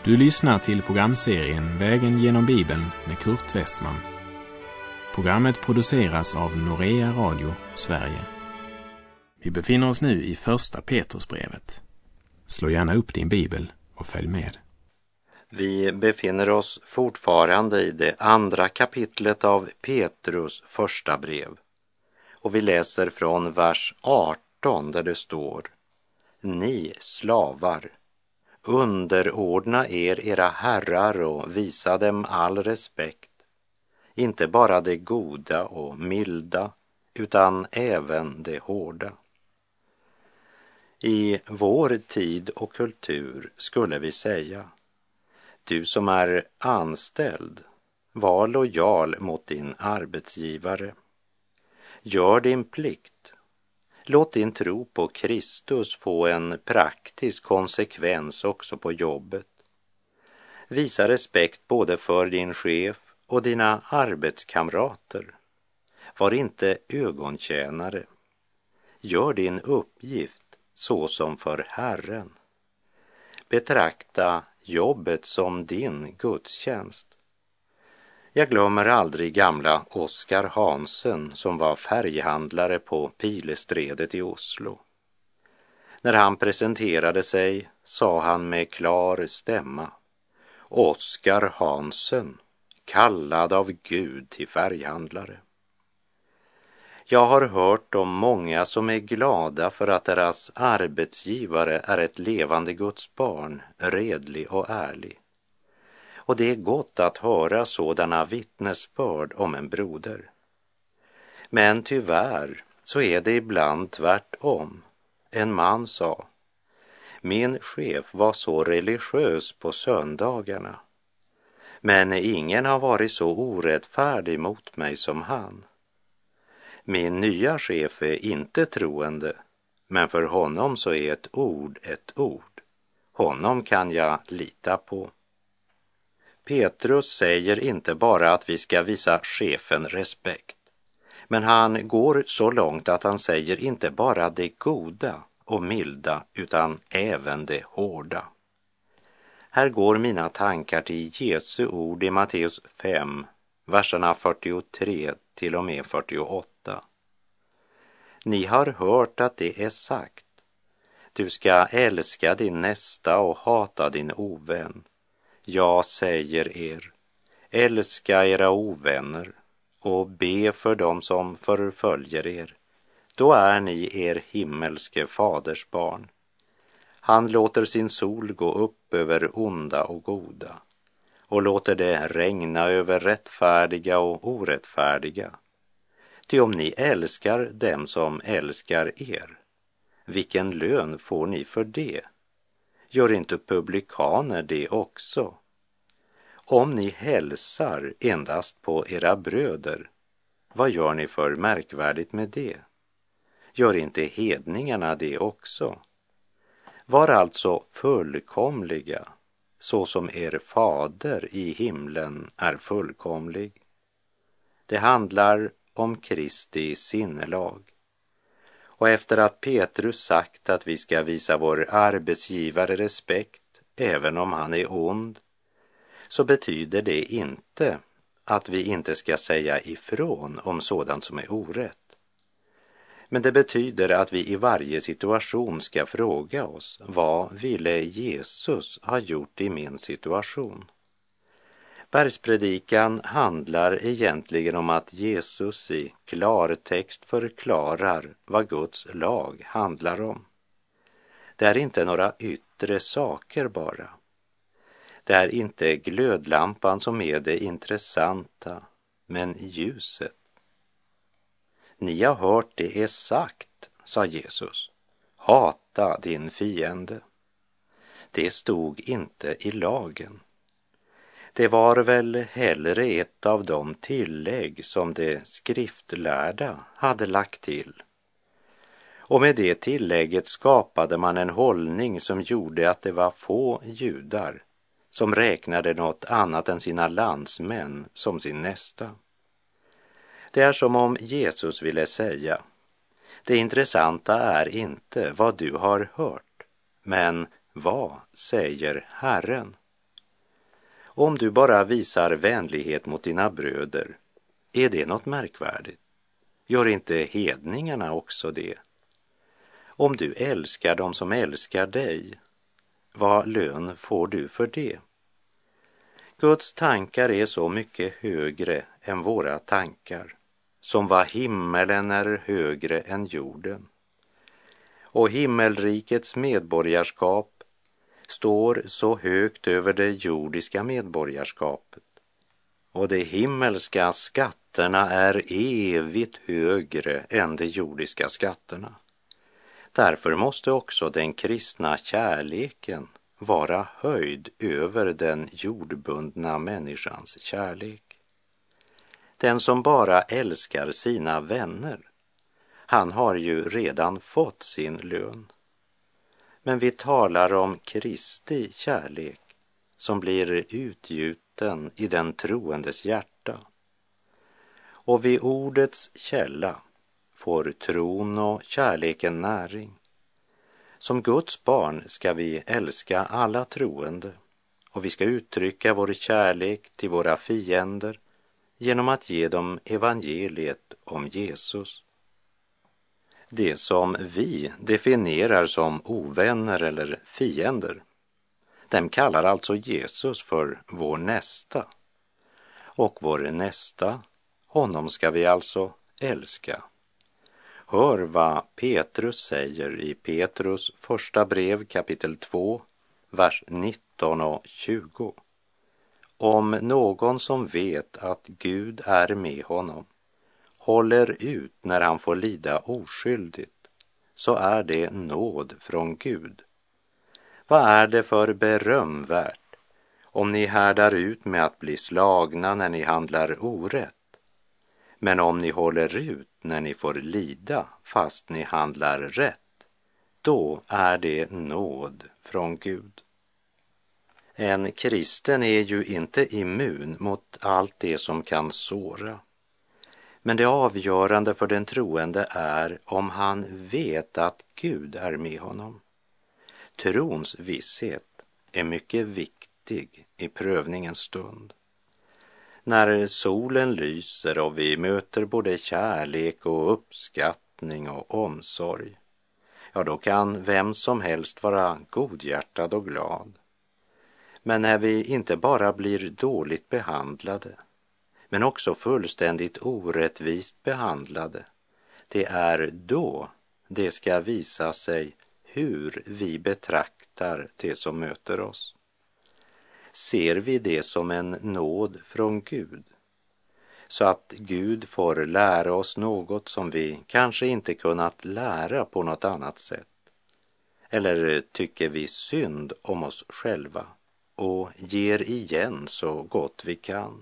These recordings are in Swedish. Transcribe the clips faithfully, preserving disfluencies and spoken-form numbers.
Du lyssnar till programserien Vägen genom Bibeln med Kurt Westman. Programmet produceras av Norea Radio, Sverige. Vi befinner oss nu i första Petrusbrevet. Slå gärna upp din bibel och följ med. Vi befinner oss fortfarande i det andra kapitlet av Petrus första brev. Och vi läser från vers arton där det står: Ni slavar, underordna er era herrar och visa dem all respekt, inte bara det goda och milda, utan även det hårda. I vår tid och kultur skulle vi säga: du som är anställd, var lojal mot din arbetsgivare. Gör din plikt. Låt din tro på Kristus få en praktisk konsekvens också på jobbet. Visa respekt både för din chef och dina arbetskamrater. Var inte ögontjänare. Gör din uppgift så som för Herren. Betrakta jobbet som din gudstjänst. Jag glömmer aldrig gamla Oskar Hansen som var färghandlare på Pilestredet i Oslo. När han presenterade sig sa han med klar stämma: Oskar Hansen, kallad av Gud till färghandlare. Jag har hört om många som är glada för att deras arbetsgivare är ett levande Guds barn, redlig och ärlig. Och det är gott att höra sådana vittnesbörd om en broder. Men tyvärr så är det ibland tvärtom. En man sa: min chef var så religiös på söndagarna, men ingen har varit så orättfärdig mot mig som han. Min nya chef är inte troende, men för honom så är ett ord ett ord. Honom kan jag lita på. Petrus säger inte bara att vi ska visa chefen respekt, men han går så långt att han säger inte bara det goda och milda, utan även det hårda. Här går mina tankar till Jesu ord i Matteus fem, verserna fyrtiotre till och med fyrtioåtta. Ni har hört att det är sagt: du ska älska din nästa och hata din ovän. Jag säger er, älska era ovänner och be för dem som förföljer er. Då är ni er himmelske faders barn. Han låter sin sol gå upp över onda och goda och låter det regna över rättfärdiga och orättfärdiga. Ty om ni älskar dem som älskar er, vilken lön får ni för det? Gör inte publikaner det också? Om ni hälsar endast på era bröder, vad gör ni för märkvärdigt med det? Gör inte hedningarna det också? Var alltså fullkomliga, så som er fader i himlen är fullkomlig. Det handlar om Kristi sinnelag. Och efter att Petrus sagt att vi ska visa vår arbetsgivare respekt, även om han är ond, så betyder det inte att vi inte ska säga ifrån om sådant som är orätt. Men det betyder att vi i varje situation ska fråga oss: vad ville Jesus ha gjort i min situation? Bergspredikan handlar egentligen om att Jesus i klartext förklarar vad Guds lag handlar om. Det är inte några yttre saker bara. Det är inte glödlampan som är det intressanta, men ljuset. Ni har hört det är sagt, sa Jesus, hata din fiende. Det stod inte i lagen. Det var väl hellre ett av de tillägg som de skriftlärda hade lagt till. Och med det tillägget skapade man en hållning som gjorde att det var få judar som räknade något annat än sina landsmän som sin nästa. Det är som om Jesus ville säga: det intressanta är inte vad du har hört, men vad säger Herren? Om du bara visar vänlighet mot dina bröder, är det något märkvärdigt? Gör inte hedningarna också det? Om du älskar dem som älskar dig, vad lön får du för det? Guds tankar är så mycket högre än våra tankar, som vad himmelen är högre än jorden. Och himmelrikets medborgarskap står så högt över det jordiska medborgarskapet. Och de himmelska skatterna är evigt högre än de jordiska skatterna. Därför måste också den kristna kärleken vara höjd över den jordbundna människans kärlek. Den som bara älskar sina vänner, han har ju redan fått sin lön. Men vi talar om Kristi kärlek som blir utgjuten i den troendes hjärta. Och vid ordets källa får tron och kärleken näring. Som Guds barn ska vi älska alla troende och vi ska uttrycka vår kärlek till våra fiender genom att ge dem evangeliet om Jesus. Det som vi definierar som ovänner eller fiender, dem kallar alltså Jesus för vår nästa. Och vår nästa, honom ska vi alltså älska. Hör vad Petrus säger i Petrus första brev kapitel två, vers nitton och tjugo. Om någon som vet att Gud är med honom håller ut när han får lida oskyldigt, så är det nåd från Gud. Vad är det för berömvärt om ni härdar ut med att bli slagna när ni handlar orätt? Men om ni håller ut när ni får lida fast ni handlar rätt, då är det nåd från Gud. En kristen är ju inte immun mot allt det som kan såra. Men det avgörande för den troende är om han vet att Gud är med honom. Trons visshet är mycket viktig i prövningens stund. När solen lyser och vi möter både kärlek och uppskattning och omsorg, ja då kan vem som helst vara godhjärtad och glad. Men när vi inte bara blir dåligt behandlade, men också fullständigt orättvist behandlade, det är då det ska visa sig hur vi betraktar det som möter oss. Ser vi det som en nåd från Gud, så att Gud får lära oss något som vi kanske inte kunnat lära på något annat sätt? Eller tycker vi synd om oss själva och ger igen så gott vi kan?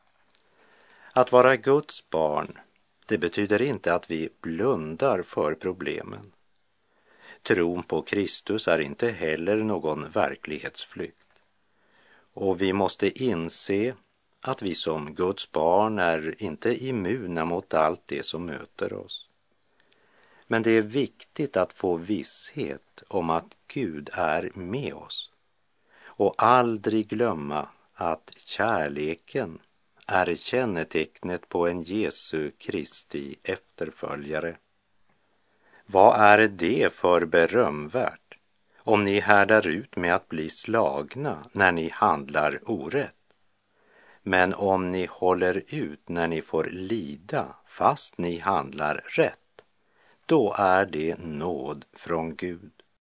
Att vara Guds barn, det betyder inte att vi blundar för problemen. Tron på Kristus är inte heller någon verklighetsflykt. Och vi måste inse att vi som Guds barn är inte immuna mot allt det som möter oss. Men det är viktigt att få visshet om att Gud är med oss. Och aldrig glömma att kärleken är kännetecknet på en Jesu Kristi efterföljare. Vad är det för berömvärt om ni härdar ut med att bli slagna när ni handlar orätt? Men om ni håller ut när ni får lida fast ni handlar rätt, då är det nåd från Gud.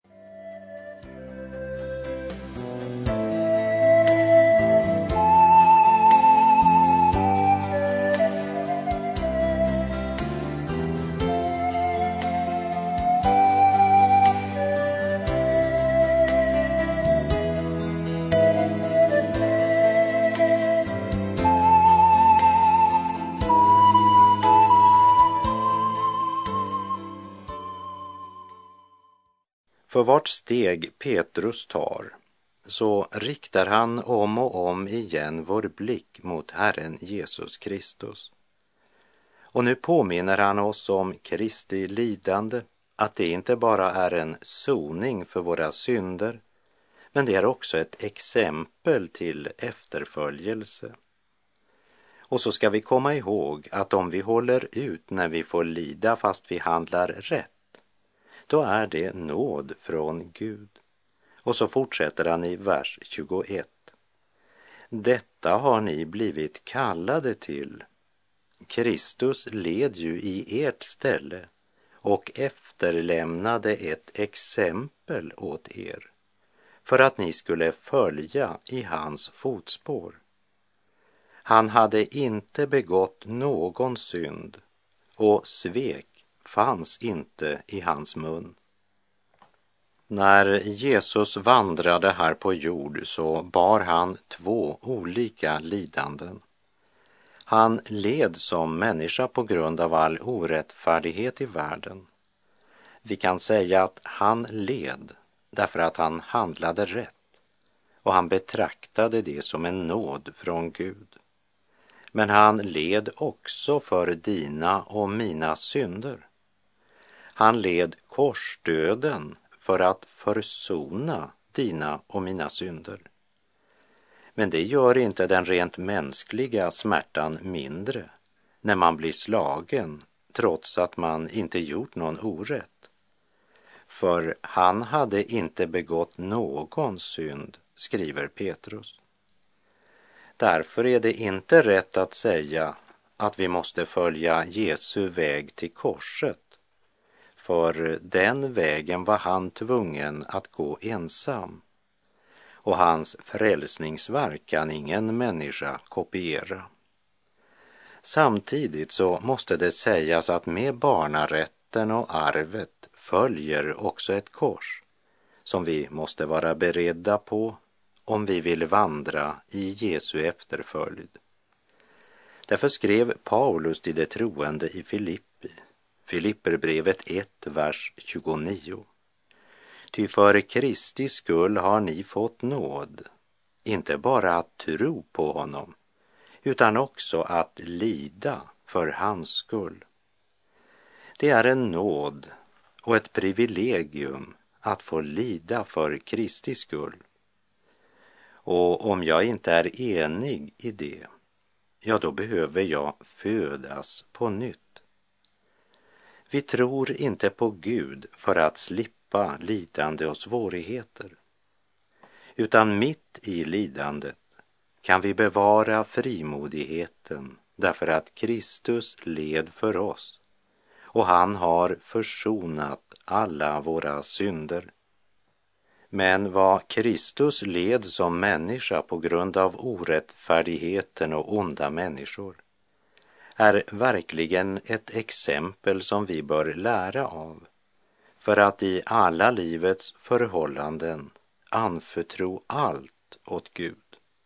För vart steg Petrus tar, så riktar han om och om igen vår blick mot Herren Jesus Kristus. Och nu påminner han oss om Kristi lidande, att det inte bara är en soning för våra synder, men det är också ett exempel till efterföljelse. Och så ska vi komma ihåg att om vi håller ut när vi får lida fast vi handlar rätt, då är det nåd från Gud. Och så fortsätter han i vers tjugoett. Detta har ni blivit kallade till. Kristus led ju i ert ställe och efterlämnade ett exempel åt er för att ni skulle följa i hans fotspår. Han hade inte begått någon synd och svek fanns inte i hans mun. När Jesus vandrade här på jord så bar han två olika lidanden. Han led som människa på grund av all orättfärdighet i världen. Vi kan säga att han led därför att han handlade rätt och han betraktade det som en nåd från Gud. Men han led också för dina och mina synder. Han led korsdöden för att försona dina och mina synder. Men det gör inte den rent mänskliga smärtan mindre när man blir slagen trots att man inte gjort någon orätt. För han hade inte begått någon synd, skriver Petrus. Därför är det inte rätt att säga att vi måste följa Jesu väg till korset. För den vägen var han tvungen att gå ensam. Och hans frälsningsverk kan ingen människa kopiera. Samtidigt så måste det sägas att med barnarätten och arvet följer också ett kors som vi måste vara beredda på om vi vill vandra i Jesu efterföljd. Därför skrev Paulus till de troende i Filippi, Filipperbrevet ett, vers tjugonio. Ty för Kristi skull har ni fått nåd, inte bara att tro på honom, utan också att lida för hans skull. Det är en nåd och ett privilegium att få lida för Kristi skull. Och om jag inte är enig i det, ja då behöver jag födas på nytt. Vi tror inte på Gud för att slippa lidande och svårigheter, utan mitt i lidandet kan vi bevara frimodigheten därför att Kristus led för oss och han har försonat alla våra synder. Men vad Kristus led som människa på grund av orättfärdigheten och onda människor är verkligen ett exempel som vi bör lära av för att i alla livets förhållanden anförtro allt åt Gud.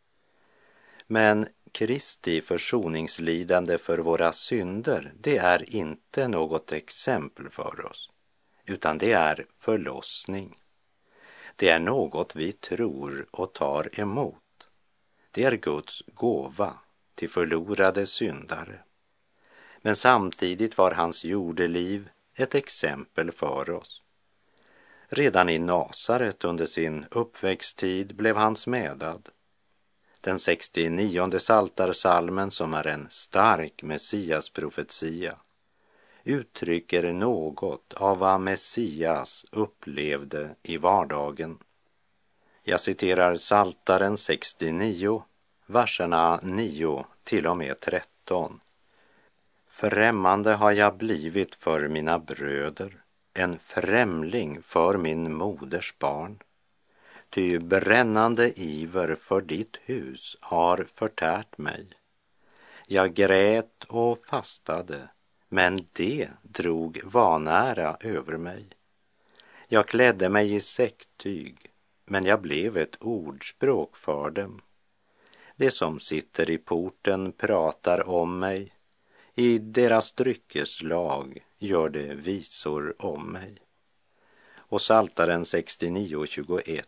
Men Kristi försoningslidande för våra synder, det är inte något exempel för oss, utan det är förlossning. Det är något vi tror och tar emot. Det är Guds gåva till förlorade syndare. Men samtidigt var hans jordeliv ett exempel för oss. Redan i Nasaret under sin uppväxttid blev han smedad. Den sextionionde psaltarpsalmen, som är en stark Messias-profetia, uttrycker något av vad Messias upplevde i vardagen. Jag citerar Psaltaren sextionio, verserna nio till och med tretton. Främmande har jag blivit för mina bröder, en främling för min moders barn. Ty brännande iver för ditt hus har förtärt mig. Jag grät och fastade, men det drog vanära över mig. Jag klädde mig i säcktyg, men jag blev ett ordspråk för dem. Det som sitter i porten pratar om mig. I deras dryckeslag gör det visor om mig. Och Psaltaren sextionio tjugoett.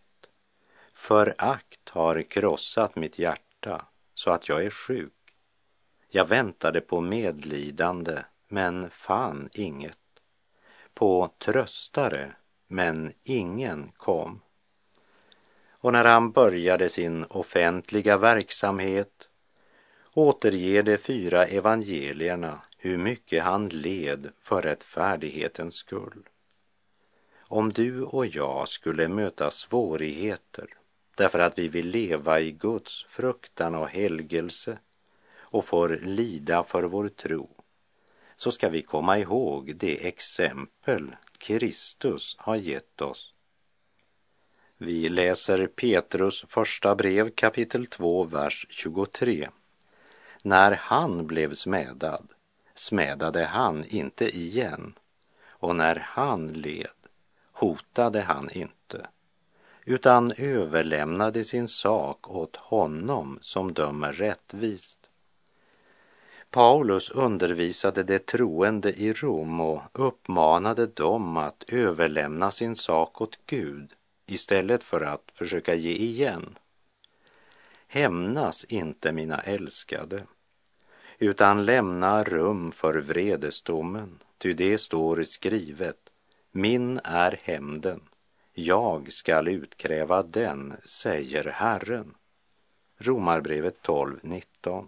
Förakt har krossat mitt hjärta så att jag är sjuk. Jag väntade på medlidande, men fann inget. På tröstare, men ingen kom. och när han började sin offentliga verksamhet återger de fyra evangelierna hur mycket han led för rättfärdighetens skull. Om du och jag skulle möta svårigheter därför att vi vill leva i Guds fruktan och helgelse och får lida för vår tro, så ska vi komma ihåg det exempel Kristus har gett oss. Vi läser Petrus första brev kapitel två, vers tjugotre. När han blev smädad, smädade han inte igen, och när han led, hotade han inte, utan överlämnade sin sak åt honom som dömer rättvist. Paulus undervisade de troende i Rom och uppmanade dem att överlämna sin sak åt Gud istället för att försöka ge igen. Hämnas inte, mina älskade, utan lämna rum för vredesdomen, ty det står skrivet: min är hämnden, jag skall utkräva den, säger Herren. Romarbrevet tolv nitton.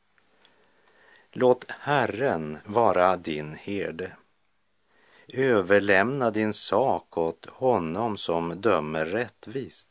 Låt Herren vara din herde. Överlämna din sak åt honom som dömer rättvist.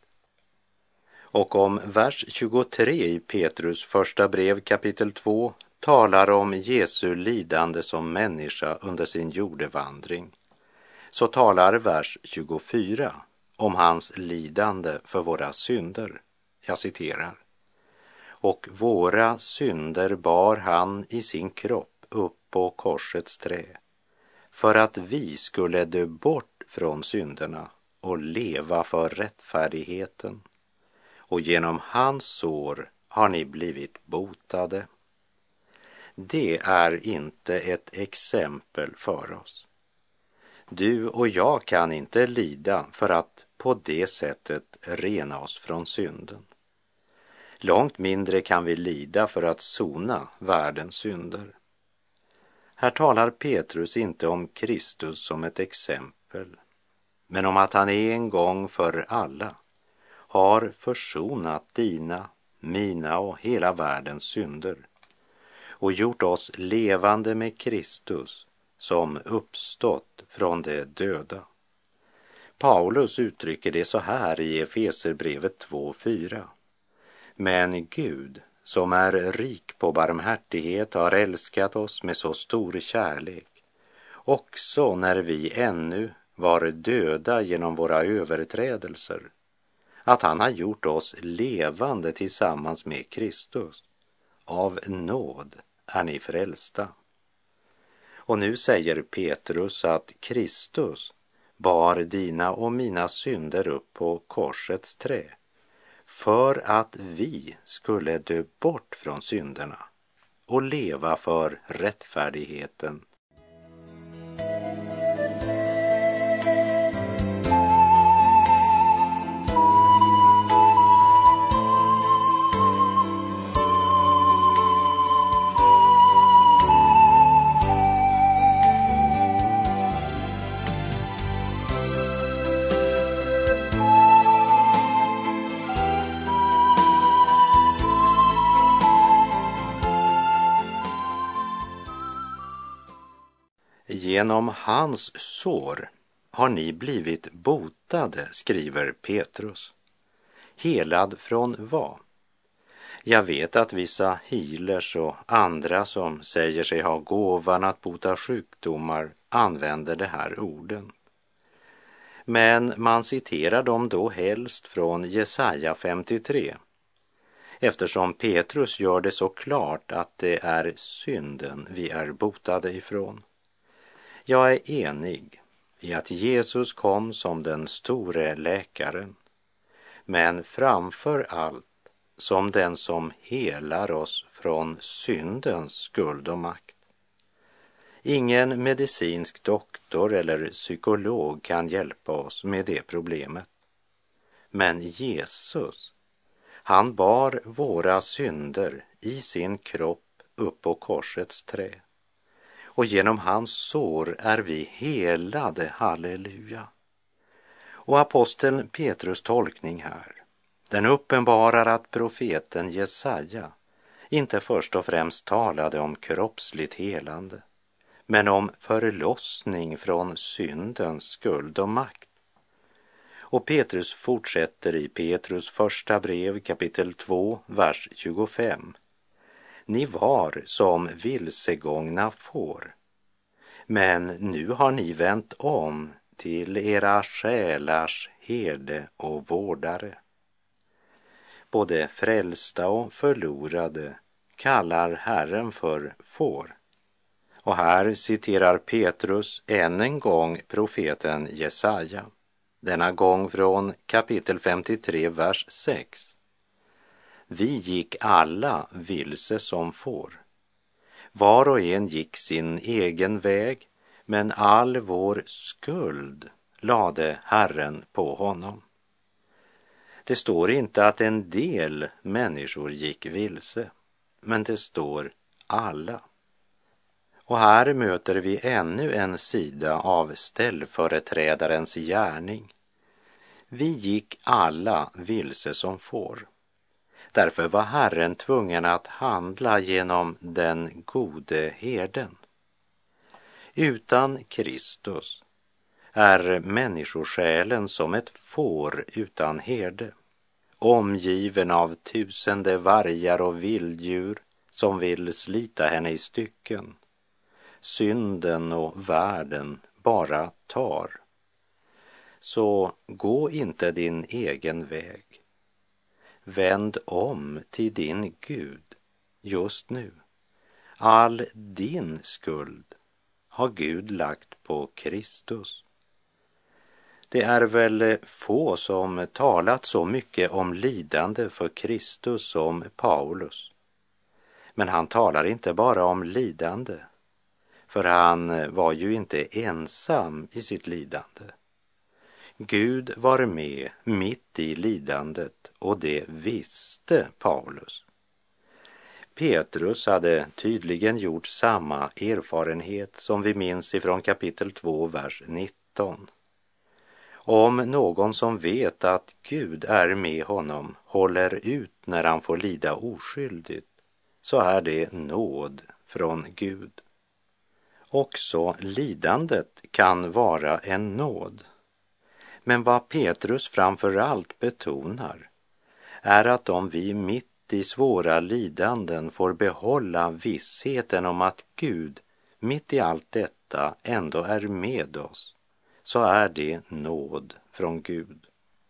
Och om vers tjugotre i Petrus första brev kapitel två talar om Jesu lidande som människa under sin jordevandring, så talar vers tjugofyra om hans lidande för våra synder. Jag citerar: och våra synder bar han i sin kropp upp på korsets trä, för att vi skulle dö bort från synderna och leva för rättfärdigheten. Och genom hans sår har ni blivit botade. Det är inte ett exempel för oss. Du och jag kan inte lida för att på det sättet rena oss från synden. Långt mindre kan vi lida för att sona världens synder. Här talar Petrus inte om Kristus som ett exempel, men om att han en gång för alla har försonat dina, mina och hela världens synder och gjort oss levande med Kristus som uppstått från de döda. Paulus uttrycker det så här i Efeserbrevet två fyra. Men Gud, som är rik på barmhärtighet, har älskat oss med så stor kärlek, också när vi ännu var döda genom våra överträdelser, att han har gjort oss levande tillsammans med Kristus. Av nåd är ni frälsta. Och nu säger Petrus att Kristus bar dina och mina synder upp på korsets trä, för att vi skulle dö bort från synderna och leva för rättfärdigheten. Genom hans sår har ni blivit botade, skriver Petrus. Helad från vad? Jag vet att vissa healers och andra som säger sig ha gåvan att bota sjukdomar använder de här orden. Men man citerar dem då helst från Jesaja femtiotre, eftersom Petrus gör det så klart att det är synden vi är botade ifrån. Jag är enig i att Jesus kom som den store läkaren, men framför allt som den som helar oss från syndens skuld och makt. Ingen medicinsk doktor eller psykolog kan hjälpa oss med det problemet. Men Jesus, han bar våra synder i sin kropp upp på korsets trä. Och genom hans sår är vi helade, halleluja. Och aposteln Petrus tolkning här Den uppenbarar att profeten Jesaja inte först och främst talade om kroppsligt helande, men om förlossning från syndens skuld och makt. Och Petrus fortsätter i Petrus första brev kapitel två, vers tjugofem. Ni var som vilsegångna får, men nu har ni vänt om till era själars herde och vårdare. Både frälsta och förlorade kallar Herren för får. Och här citerar Petrus än en gång profeten Jesaja, denna gång från kapitel femtiotre, vers sex. Vi gick alla vilse som får. Var och en gick sin egen väg, men all vår skuld lade Herren på honom. Det står inte att en del människor gick vilse, men det står alla. Och här möter vi ännu en sida av ställföreträdarens gärning. Vi gick alla vilse som får. Därför var Herren tvungen att handla genom den gode herden. Utan Kristus är människosjälen som ett får utan herde, omgiven av tusende vargar och vilddjur som vill slita henne i stycken. Synden och världen bara tar. Så gå inte din egen väg. Vänd om till din Gud just nu. All din skuld har Gud lagt på Kristus. Det är väl få som talat så mycket om lidande för Kristus som Paulus. Men han talar inte bara om lidande, för han var ju inte ensam i sitt lidande. Gud var med mitt i lidandet, och det visste Paulus. Petrus hade tydligen gjort samma erfarenhet som vi minns ifrån kapitel två, vers nitton. Om någon som vet att Gud är med honom håller ut när han får lida oskyldigt, så är det nåd från Gud. Också lidandet kan vara en nåd. Men vad Petrus framför allt betonar är att om vi mitt i svåra lidanden får behålla vissheten om att Gud mitt i allt detta ändå är med oss, så är det nåd från Gud.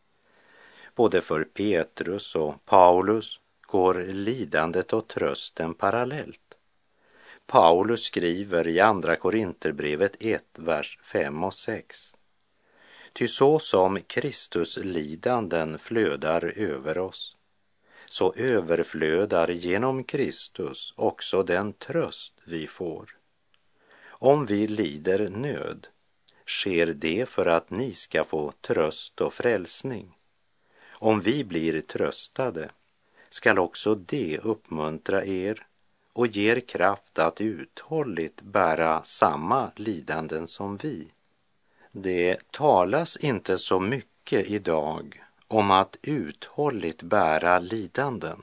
Både för Petrus och Paulus går lidandet och trösten parallellt. Paulus skriver i andra Korinterbrevet ett, vers fem och sex. Ty så som Kristus lidanden flödar över oss, så överflödar genom Kristus också den tröst vi får. Om vi lider nöd, sker det för att ni ska få tröst och frälsning. Om vi blir tröstade, skall också det uppmuntra er och ger kraft att uthålligt bära samma lidanden som vi. Det talas inte så mycket idag om att uthålligt bära lidanden.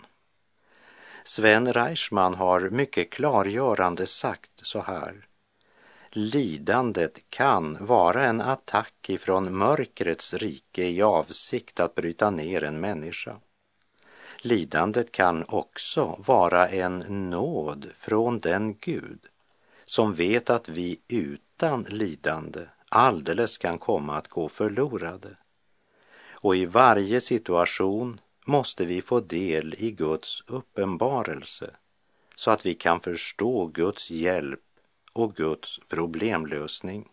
Sven Reichman har mycket klargörande sagt så här. Lidandet kan vara en attack ifrån mörkrets rike i avsikt att bryta ner en människa. Lidandet kan också vara en nåd från den Gud som vet att vi utan lidande alldeles kan komma att gå förlorade. Och i varje situation måste vi få del i Guds uppenbarelse så att vi kan förstå Guds hjälp och Guds problemlösning.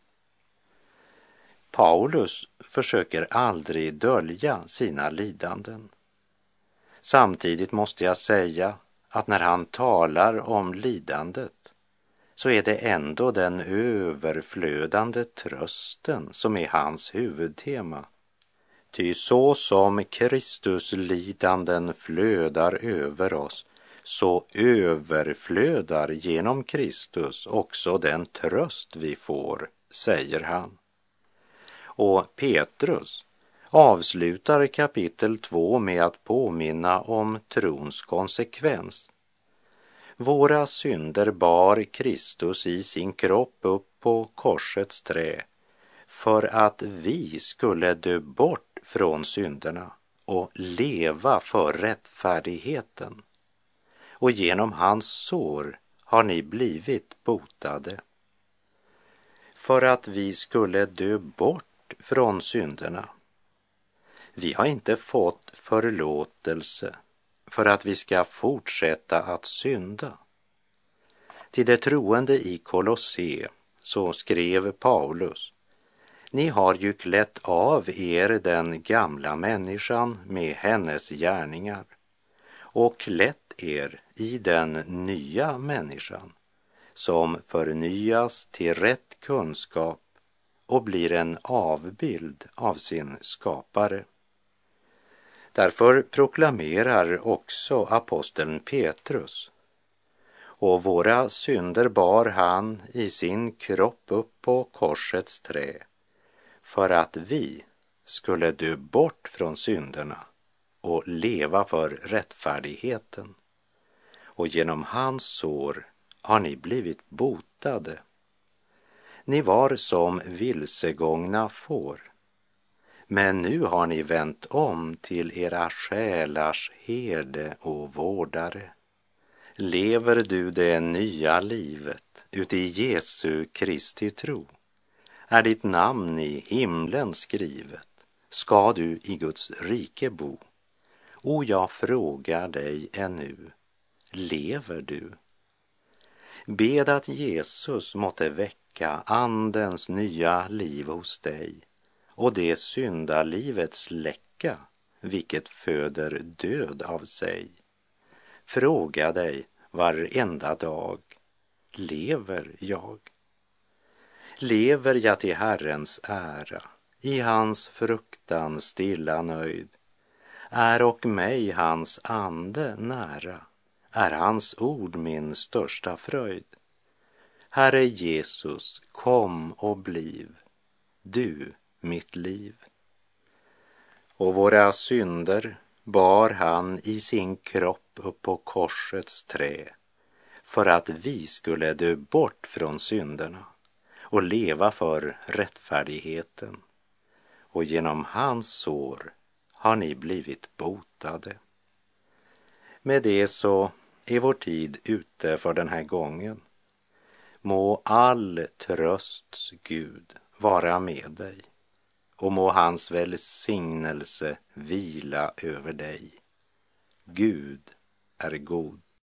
Paulus försöker aldrig dölja sina lidanden. Samtidigt måste jag säga att när han talar om lidandet så är det ändå den överflödande trösten som är hans huvudtema. Ty så som Kristus lidanden flödar över oss, så överflödar genom Kristus också den tröst vi får, säger han. Och Petrus avslutar kapitel två med att påminna om trons konsekvens. Våra synder bar Kristus i sin kropp upp på korsets trä för att vi skulle dö bort från synderna och leva för rättfärdigheten. Och genom hans sår har ni blivit botade. För att vi skulle dö bort från synderna. Vi har inte fått förlåtelse för att vi ska fortsätta att synda. Till de troende i Kolosse så skrev Paulus: ni har ju klätt av er den gamla människan med hennes gärningar och klätt er i den nya människan som förnyas till rätt kunskap och blir en avbild av sin skapare. Därför proklamerar också aposteln Petrus: och våra synder bar han i sin kropp upp på korsets trä för att vi skulle dö bort från synderna och leva för rättfärdigheten. Och genom hans sår har ni blivit botade. Ni var som vilsegångna får, men nu har ni vänt om till era själars herde och vårdare. Lever du det nya livet uti Jesu Kristi tro? Är ditt namn i himlen skrivet? Ska du i Guds rike bo? Och jag frågar dig ännu, lever du? Bed att Jesus måtte väcka andens nya liv hos dig och det syndalivets läcka, vilket föder död av sig. Fråga dig varenda dag, lever jag? Lever jag till Herrens ära, i hans fruktan stilla nöjd? Är och mig hans ande nära, är hans ord min största fröjd. Herre Jesus, kom och bliv, du mitt liv. Och våra synder bar han i sin kropp upp på korsets trä för att vi skulle dö bort från synderna och leva för rättfärdigheten. Och genom hans sår har ni blivit botade. Med det så är vår tid ute för den här gången. Må all trösts Gud vara med dig och må hans välsignelse vila över dig. Gud är god.